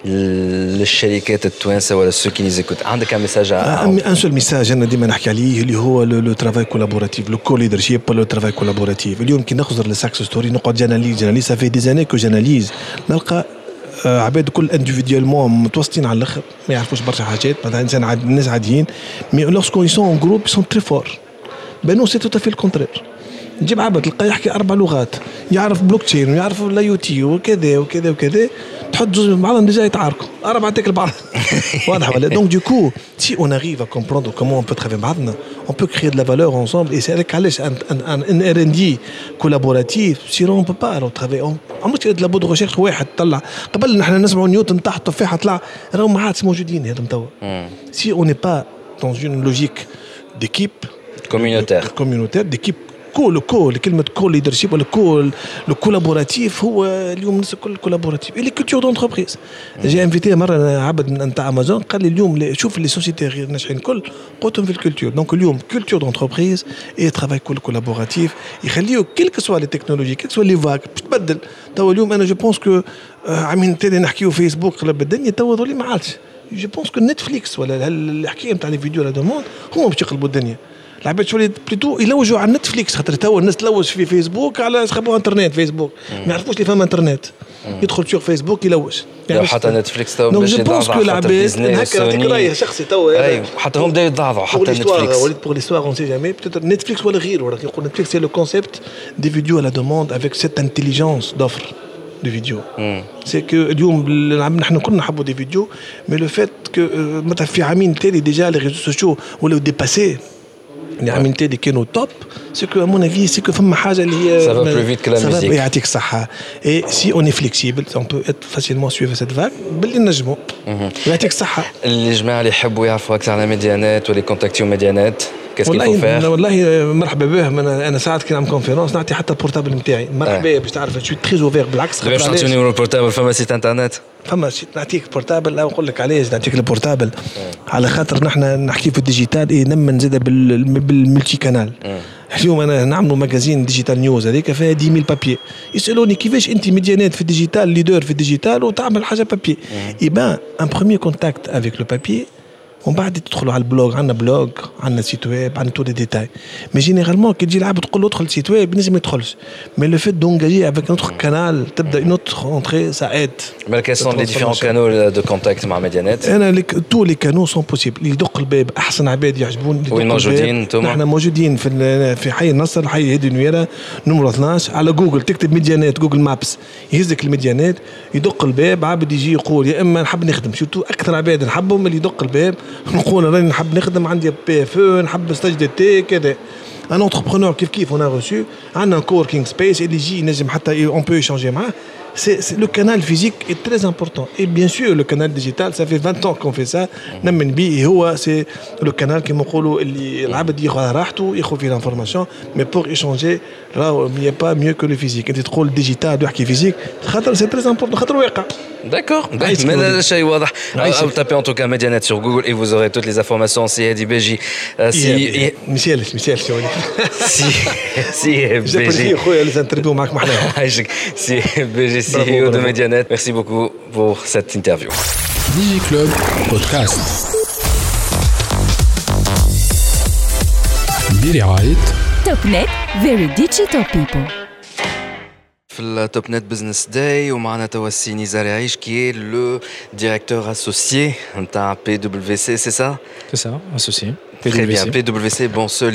للشركات التوانسه ولا سو كي نيزيكوت عندك ان ميساج ان سول ميساج انا ديما نحكي عليه اللي هو لو ترافاي كولابوراتيف لو كو ليدرشيب لو ترافاي كولابوراتيف. اليوم كي نخزر للساكس ستوري نقعد جاناليز سافي دي زاني كو جاناليز نلقى عباد كل انديفيديوالمون متوسطين على الاخر ما يعرفوش برشا حاجات مثلا انسان الناس عاديين مي لورسكو يسون ان جروب يسون تري فور بانو سي تو في الكونترير. نجيب عبد تلقاه يحكي 4 لغات يعرف بلوك تشين ويعرف الاي تي وكذا وكذا وكذا تحط زوج مع بعضهم ديجا يتعاركوا 4 تاكل بعض واضح ولا. دونك دو كو سي اون اريف ا كومبروندر كومون اون بو ترافاي بعضنا اون بو كريي دو لا فالور انصامبل اي سي هذاك علاش ان ار ان دي كولابوراتيف سينون اون بو با الو ترافاي اون مش لا بود ريشيرش واحد طلع قبل نحن نسمعوا نيوتن تحت تفاحه طلع راهم ما عادش موجودين هذم توا. سي اون ني با دون اون لوجيك ديكيب كوميونيتير ديكيب كل كلمه كول ليدرشيب ولا كول لو كولابوراتيف هو اليوم الناس الكل كولابوراتيف اللي كولتور دونتربريز. جي انفيتي مره عبد نتاع امازون قال لي اليوم شوف لي سوسيتي غير ناجحين الكل قلتهم في الكولتور. دونك اليوم كولتور دونتربريز اي ترافاي كل كولابوراتيف يخليو كيلك سوا لي تكنولوجي كيلك سوا لي فاك تبدل. توا اليوم انا جو بونس كو عامين تاني نحكيو فيسبوك قلب الدنيا توا ذولي ما عادش. جو بونس كو نتفليكس ولا الحكايه نتاع لي فيديو لا دوموند هما باش يقلبوا الدنيا. العباد شويه بليتو يلوجوا على نتفليكس خاطر توا الناس تلوج في فيسبوك على خبوا انترنت فيسبوك ما يعرفوش اللي فما انترنت يدخل شوف فيسبوك يلوج يعني حتى نتفليكس توا باش يضعف حتى ديزني هكا نعطيك راي شخصي توا اي حتى هم بداو يضعفوا حتى نتفليكس وليت بور ليستوار اون سي جامي بتيتر نتفليكس ولا غير ولكن يقول نتفليكس سي لو كونسيبت دي فيديو على دوموند افيك سيت انتيليجنس دوفر دي فيديو سي كو اليوم نحن كلنا نحبوا دي فيديو مي لو فيت كو مثلا في عامين تالي ديجا لي ريزو سوسيو ولاو ديباسي اللي عملتي اللي كانوا توب سي كو مون افي سي كو فما حاجه اللي هي سافا بلو فيت كلا ميوزيك يعطيك الصحه اي سي اون فليكسيبل اون بو ات فاسيلمون سويفر سيت فاك باللي نجموا يعطيك الصحه. الجماعه اللي يحبوا يعرفوا اكثر على ميديانات ولا كونتاكتيو ميديانات كيف كيفو فير والله مرحبا به. انا ساعات كي نعمل كونفيرونس نعطي حتى البورتابل نتاعي مرحبا باش تعرف جو تري اوفير بالعكس باش تعطيني نيميرو البورتابل فما سيت انترنت فما شيء نعطيك بورتابل او نقول لك علاش نعطيك البورتابل على خاطر نحن نحكي في الديجيتال اي نمن زاد بالملتي كانال. اليوم انا نعملوا ماجازين ديجيتال نيوز هذيك فيها 10,000 بابي يسالوني كيفاش انت ميديانات في الديجيتال ليدر في الديجيتال وتعمل حاجه بابي. اي ان بروميير كونتاكت افيك لو بابي ومن بعد تدخلوا على البلوج عندنا بلوج عندنا سيت ويب عندنا تو دي ديتاي مي جينيرالمون كي تجي العبد تقول له ادخل سيت ويب لازم ما يدخلش مي لو فيت دونجاجي افيك نوتر كانال تبدا نوتر اونتري سا ايد. مي كاين سون لي ديفيرون كانال دو كونتاكت مع ميديانات انا تو لي كانو سون بوسيبل اللي يدق الباب احسن عباد يعجبون وين موجودين انتم؟ نحن موجودين في حي النصر حي هادي نويره نمره 12 على جوجل تكتب ميديانات جوجل مابس يهزك الميديانات يدق الباب عبد يجي يقول يا اما نحب نخدم شفتوا اكثر عباد نحبهم اللي يدق الباب نقول راني نحب نخدم عندي بي اف او نحب ستاج دي تي كذا ان انتربرونور كيف اون ا ريسو عندنا كوركينغ سبيس اللي يجي نجم حتى اون بو يشانجي معاه le canal physique est très important. Et bien sûr, le canal digital, ça fait 20 ans qu'on fait ça. C'est le canal qui m'a l'information, mais pour échanger, là, il n'y a pas mieux que le physique. Et trop le digital, le physique, c'est très important. D'accord. Mais là, c'est واضح. Vous tapez en tout cas Medianet sur Google et vous aurez toutes les informations. Si Hedi Beji, Michel, les interviews معك محلاها. Si Beji, CEO de Medianet. Merci beaucoup pour cette interview. DigiClub Podcast. برعاية TopNet, very digital people. في التوب نت بزنس داي ومعنا توا السي نزار يعيش كي لو ديريكتور اسوسيي نتاع بي دبليو سي سي سا C'est ça, associé. Très bien, PwC, bon, ceux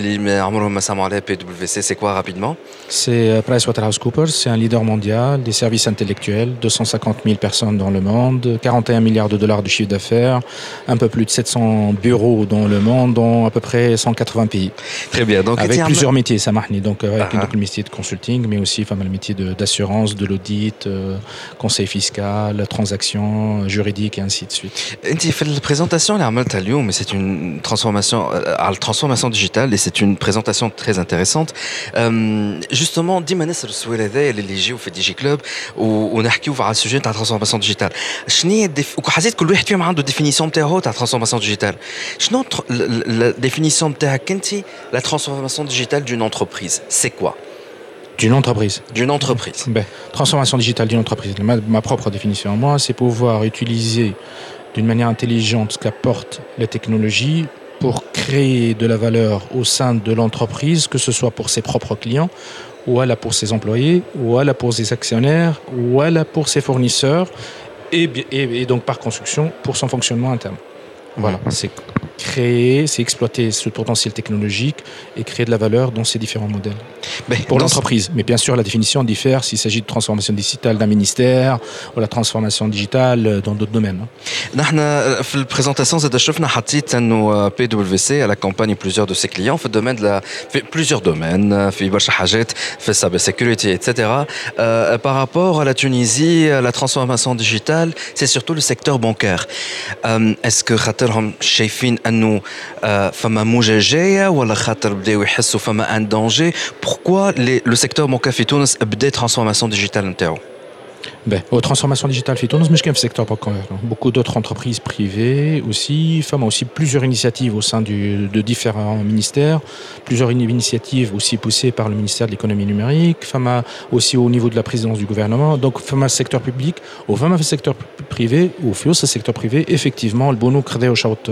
qui PwC, c'est quoi rapidement? C'est PricewaterhouseCoopers, c'est un leader mondial des services intellectuels, 250 000 personnes dans le monde, 41 milliards de dollars de chiffre d'affaires, un peu plus de 700 bureaux dans le monde, dans à peu près 180 pays. Très bien. Donc, avec plusieurs métiers, ça marche. Donc, avec le métier de consulting, mais aussi le métier d'assurance, de l'audit, conseil fiscal, transactions juridiques et ainsi de suite. Tu fais la présentation, mais c'est une transformation. À la transformation digitale et c'est une présentation très intéressante. Justement, dis-moi نسر السؤال هذا اللي يجيو في دي جي كلوب ونحكيو على السوجي تاع الترانسفورماسيون ديجيتال. شنو وحسيت كل واحد فيهم عنده ديفينيسيون تاعو تاع الترانسفورماسيون ديجيتال. شنو لا ديفينيسيون تاعك انت لا ترانسفورماسيون ديجيتال d'une entreprise, c'est quoi? D'une entreprise. D'une entreprise. Ben, transformation digitale d'une entreprise. Ma propre définition à moi, c'est pouvoir utiliser d'une manière intelligente ce qu'apporte la technologie pour créer de la valeur au sein de l'entreprise, que ce soit pour ses propres clients, ou alors pour ses employés, ou alors pour ses actionnaires, ou alors pour ses fournisseurs, et donc par construction pour son fonctionnement interne. Voilà, c'est créer, c'est exploiter ce potentiel technologique et créer de la valeur dans ces différents modèles. Pour l'entreprise. Mais bien sûr, la définition diffère s'il s'agit de transformation digitale d'un ministère ou la transformation digitale dans d'autres domaines. نحن في البريزونطاسيون زاد شفنا حطيت انه بي دبليو سي على كومباني plusieurs de ses clients في الدومين في plusieurs domaines في برشا حاجات في السايبر سيكوريتي etc. Par rapport à la Tunisie, la transformation digitale, c'est surtout le secteur bancaire. Est-ce que خاطرهم شايفين انه فما موجة جاية ولا خاطر بداو يحسوا فما ان دانجي؟ Pourquoi le secteur bancaire في تونس بدا transformation digitale نتاعو؟ Aux transformations digitales في تونس مش كان في السيكتور bancaire. Beaucoup d'autres entreprises privées aussi, FAMA aussi plusieurs initiatives au sein de différents ministères, plusieurs initiatives aussi poussées par le ministère de l'économie numérique, FAMA aussi au niveau de la présidence du gouvernement. Donc FAMA secteur public, au FAMA secteur privé, au FIOS secteur privé, effectivement le bono créé au shout.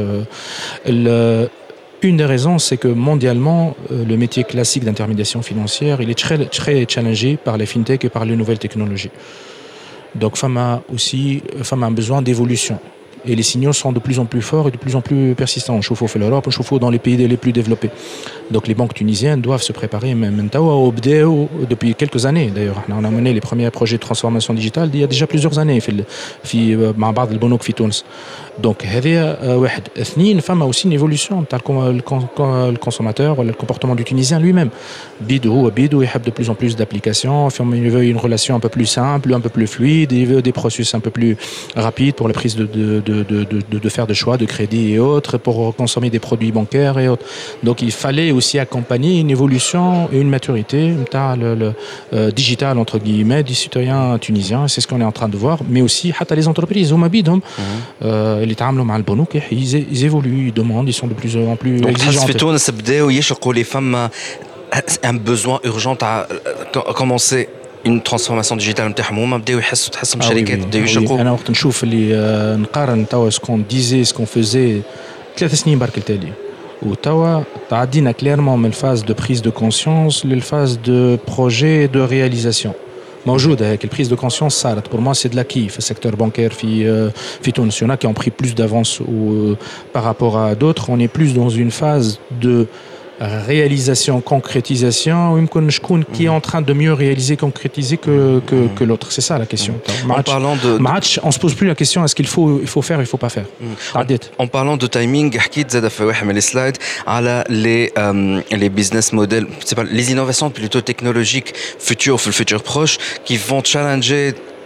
Une des raisons, c'est que mondialement, le métier classique d'intermédiation financière, il est très, très challengé par les fintech et par les nouvelles technologies. Donc, FAMA a un besoin d'évolution. Et les signaux sont de plus en plus forts et de plus en plus persistants. On chauffe au l'Europe, on chauffe dans les pays les plus développés. Donc les banques tunisiennes doivent se préparer depuis quelques années. D'ailleurs, on a mené les premiers projets de transformation digitale il y a déjà plusieurs années مع بعض البنوك في تونس. Donc هذا واحد. اثنين, فما aussi une évolution تاع le consommateur ou le comportement du Tunisien lui-même. بيدو يحب de plus en plus d'applications, il veut une relation un peu plus simple, un peu plus fluide, il veut des processus un peu plus rapides pour la prise de faire des choix de crédit et autres, pour consommer des produits bancaires et autres. Donc il fallait aussi accompagner une évolution et une maturité digitale entre guillemets du citoyen tunisien. C'est ce qu'on est en train de voir, mais aussi les entreprises اللي يتعاملوا مع البنوك ils évoluent, ils demandent, ils sont de plus en plus exigeants. في تونس بداو يشقوا لي فما un besoin urgent à commencer une transformation digitale نتاعهم هما بداو تحسهم شركات بداو يشقوا. انا وقت نشوف اللي نقارن توا سكون ديزي سكون فوزي 3 سنين برك التالي وتوا تعدينا كليرمون من الفاز دو بريز دو كونسيونس للفاز دو بروجي دو رياليزاسيون. موجودة هيك البريز دو كونسيونس صارت. Pour moi c'est de l'acquis في السيكتور بانكير في تونس. Il y en a qui ont pris plus d'avance par rapport à d'autres. On est plus dans une phase de réalisation, concrétisation, qui est en train de mieux réaliser, concrétiser que l'autre. C'est ça la question. Match, on se pose plus la question est-ce qu'il faut faire, il faut pas faire. En parlant de timing, حكيت زاد في واحد من السلايد على les business models, c'est pas les innovations plutôt technologiques futures, في le futur proche, qui vont challenger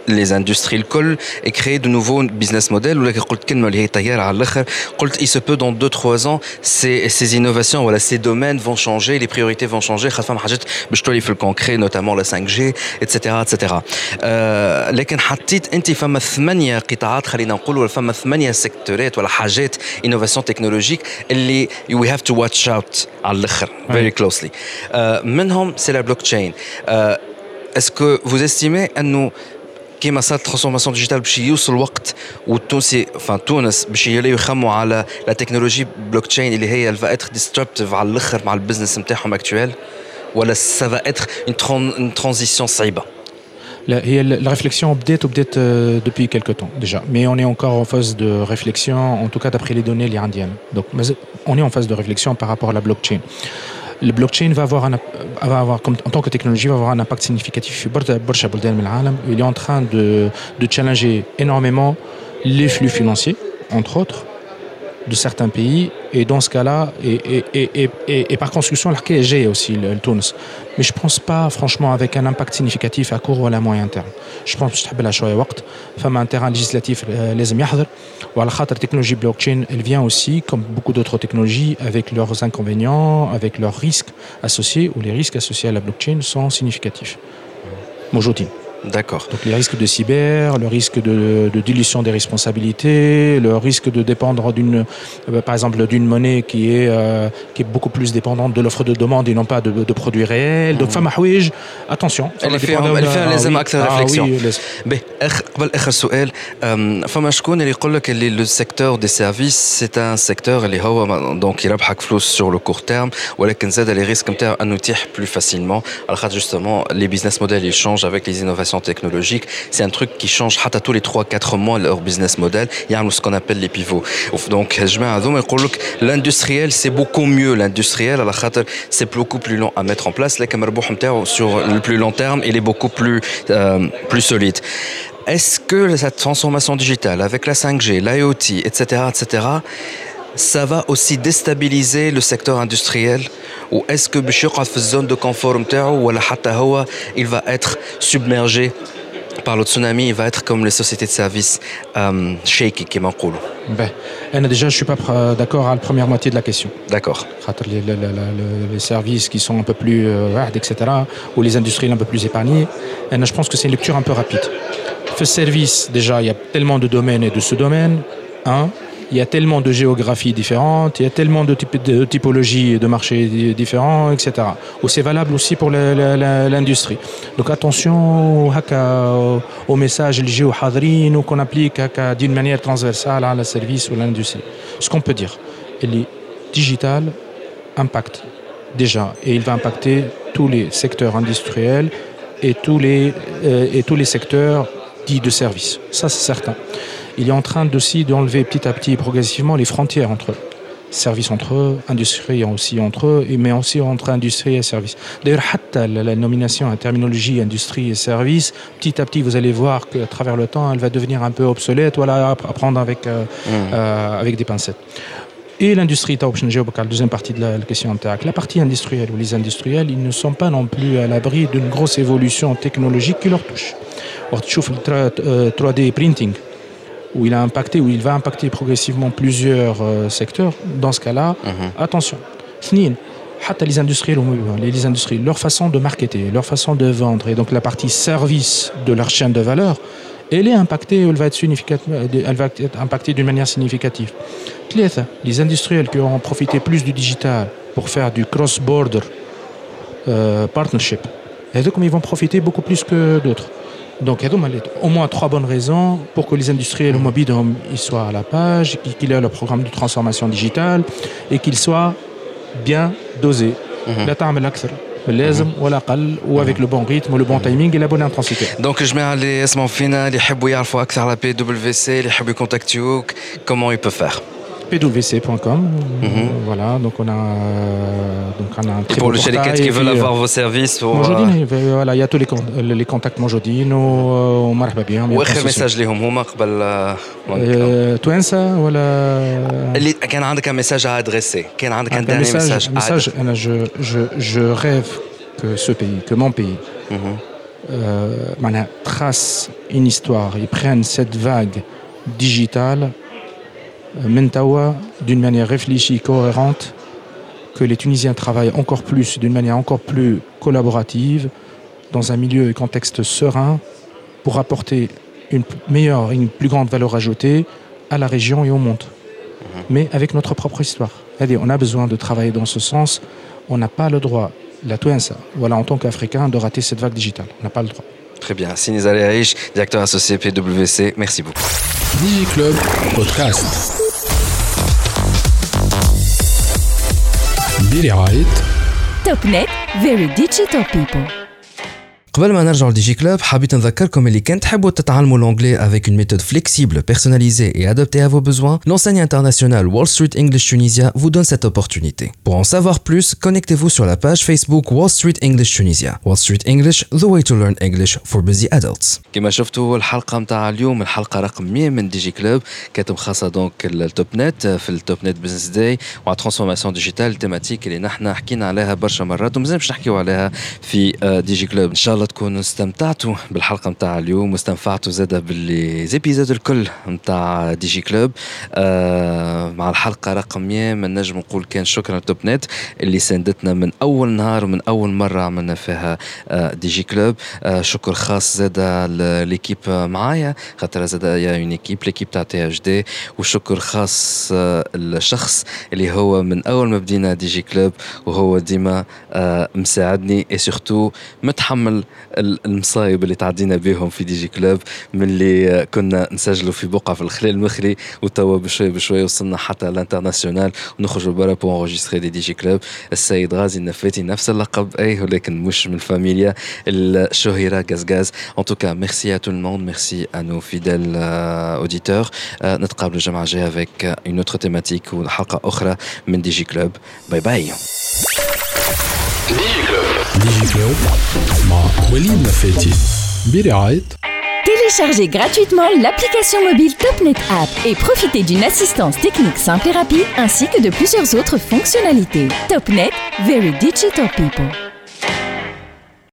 les industries الكل et créer de nouveaux business models ou قلت كلمة اللي هي طيارة على الآخر قلت il se peut dans 2-3 ans ces innovations voilà ces domaines vont changer les priorités vont changer خاصة حاجات باش تولي في الكونكري notamment la 5G etc. لكن حطيت انت فما 8 قطاعات خلينا نقول ولا فما 8 سيكتورات ولا حاجات innovation technologique اللي we have to watch out على الآخر very closely منهم c'est la blockchain est-ce que vous estimez أنه كيما صارت الترانسفورماسيون ديجيتال باش يوصل الوقت والتونسي تونس باش يلاقيو يخموا على لا تكنولوجي بلوك تشين اللي هي الفا اتر ديستربتيف على الاخر مع البزنس نتاعهم اكطوال ولا سا فا اتر اون ترانزيسيون صعيبه؟ La réflexion بدات depuis quelque temps déjà, mais on est encore en phase de réflexion, en tout cas d'après les données indiennes. Donc on est en phase de réflexion par rapport à la blockchain. Le blockchain va avoir comme, en tant que technologie, va avoir un impact significatif sur برشا بلدان من العالم. Il est en train de challenger énormément les flux financiers, entre autres, de certains pays. Et dans ce cas-là, et par construction, l'archéologie est aussi le Tunis. Mais je ne pense pas, franchement, avec un impact significatif à court ou à moyen terme. Je pense que je vais شوية وقت. فما un terrain législatif لازم يحضر. وعلى خاطر technologie blockchain, elle vient aussi, comme beaucoup d'autres technologies, avec leurs inconvénients, avec leurs risques associés, ou les risques associés à la blockchain sont significatifs. موجودين. D'accord. Donc les risques de cyber, le risque de dilution des responsabilités, le risque de dépendre par exemple d'une monnaie qui est beaucoup plus dépendante de l'offre de demande et non pas de produits réels. Donc فما حوايج attention. اللي فيها لازم أكثر réflexion. قبل آخر سؤال فما شكون اللي يقول لك اللي le secteur des services c'est un secteur اللي هو donc يربحك فلوس sur le court terme ولكن زاد les risques نتاعو أنه يتيح plus facilement على خاطر justement les business models ils changent avec les innovations technologique, c'est un truc qui change حتى tous les 3-4 mois leur business model. Il y a ce qu'on appelle les pivots. Donc, l'industriel, c'est beaucoup mieux. L'industriel, à la khater, c'est beaucoup plus long à mettre en place. Sur le plus long terme, il est beaucoup plus solide. Est-ce que cette transformation digitale avec la 5G, l'IoT, etc., ça va aussi déstabiliser le secteur industriel ou est-ce que باش يقعد في الزون de confort نتاعو ولا حتى هو il va être submergé par le tsunami, il va être comme les sociétés de services shaky كما نقولوا. Ben, déjà je suis pas d'accord à la première moitié de la question. D'accord. Les services qui sont un peu plus etc. ou les industriels un peu plus épargnés, je pense que c'est une lecture un peu rapide. Le service déjà, il y a tellement de domaines et de sous-domaines, il y a tellement de géographies différentes, il y a tellement de typologies de marchés différents, etc. Ou c'est valable aussi pour l'industrie. Donc attention aux messages ou qu'on applique d'une manière transversale à la service ou à l'industrie. Ce qu'on peut dire, le digital impacte déjà, et il va impacter tous les secteurs industriels et tous les secteurs dits de service. Ça, c'est certain. Il est en train aussi d'enlever petit à petit, progressivement, les frontières entre eux. Services entre eux, industrie aussi entre eux, mais aussi entre industrie et service. D'ailleurs, la nomination à terminologie industrie et service, petit à petit, vous allez voir qu'à travers le temps, elle va devenir un peu obsolète, voilà, à prendre avec des pincettes. Et l'industrie, la deuxième partie de la question, la partie industrielle ou les industriels, ils ne sont pas non plus à l'abri d'une grosse évolution technologique qui leur touche. Tu vois le 3D printing, où il va impacter progressivement plusieurs secteurs. Dans ce cas-là, attention. Les industries, leur façon de marketer, leur façon de vendre, et donc la partie service de leur chaîne de valeur, elle est impactée, elle va être impactée d'une manière significative. Les industriels qui auront profité plus du digital pour faire du cross-border partnership, ils vont profiter beaucoup plus que d'autres. Donc, il y a au moins 3 bonnes raisons pour que les industriels mobiles soient à la page, qu'ils aient le programme de transformation digitale et qu'ils soient bien dosés. La تعمل أكثر باللازم ولا أقل وavec le bon rythme, le bon timing et la bonne intensité. Donc, je mets les اسمعوا فينا اللي يحبوا يعرفوا أكثر على PwC, اللي يحبوا يكونتاكتوك, comment ils peuvent faire? pwc.com. Voilà, donc on a un très pour beau les chaliquettes qui veulent avoir vos services voilà, il y a tous les contacts موجودين ومرحبا بهم. واخر ميساج لهم هما قبل توانسه ولا اللي كان عندك un message à adresser, كان عندك un dernier message انا je rêve que ce pays, que mon pays tracent une histoire, ils prennent cette vague digitale d'une manière réfléchie, cohérente, que les Tunisiens travaillent encore plus, d'une manière encore plus collaborative, dans un milieu et contexte serein, pour apporter une plus grande valeur ajoutée à la région et au monde. Mais avec notre propre histoire. C'est-à-dire, on a besoin de travailler dans ce sens. On n'a pas le droit, la Touensa, voilà, en tant qu'Africain, de rater cette vague digitale. On n'a pas le droit. Très bien. Sini Aïch, directeur associé PwC, merci beaucoup. DigiClub Podcast. برعاية TopNet, very digital people. قبل ما نرجع لديجي كلوب حبيت نذكركم اللي كان تحبوا تتعلموا l'anglais avec une méthode flexible, personnalisée et adaptée à vos besoins, l'enseigne internationale Wall Street English Tunisia vous donne cette opportunité. Pour en savoir plus, connectez-vous sur la page Facebook Wall Street English Tunisia. Wall Street English, the way to learn English for busy adults. كما شفتوا الحلقة متاع اليوم الحلقة رقم 100 من ديجي كلوب كانت مخصصة دونك التوب نت في التوب نت بزنس داي وعلى ترانسفورماسيون ديجيتال التيماتيك اللي نحن حكينا عليها برشا مرات ومازال باش نحكيو عليها في ديجي كلوب. ان شاء الله تكونوا استمتعتوا بالحلقة متاع اليوم واستنفعتوا زاده بالزيبيزود الكل متاع ديجي كلوب. مع الحلقة رقم 100 ما نجم نقول كان شكرا لتوب نت اللي ساندتنا من اول نهار ومن اول مرة عملنا فيها ديجي كلوب. شكر خاص زاده ليكيب معايا خاطر زاده يا اون ايكيب ليكيب تاع تي اش دي. وشكر خاص الشخص اللي هو من اول ما بدينا ديجي كلوب وهو ديما مساعدني اي سورتو متحمل المصايب اللي تعدينا بهم في ديجي كلوب من اللي كنا نسجلوا في بقعة في الخليل المخلي وتوا بشوي بشوي وصلنا حتى الانترناسيونال ونخرجوا برا بو انغوجيستري دي ديجي كلوب. السيد غازي النفاتي نفس اللقب اي ولكن مش من فاميليا الشهيرة غازغاز. En tout cas, merci à tout le monde, merci à nos fidèles auditeurs. نتقابل الجمعة الجاية avec une autre thématique وحلقة أخرى من ديجي كلوب. باي باي. DigiClub مع وليد نفاتي برعاية Téléchargez gratuitement l'application mobile TopNet App et profitez d'une assistance technique simple et rapide ainsi que de plusieurs autres fonctionnalités. TopNet, very digital people.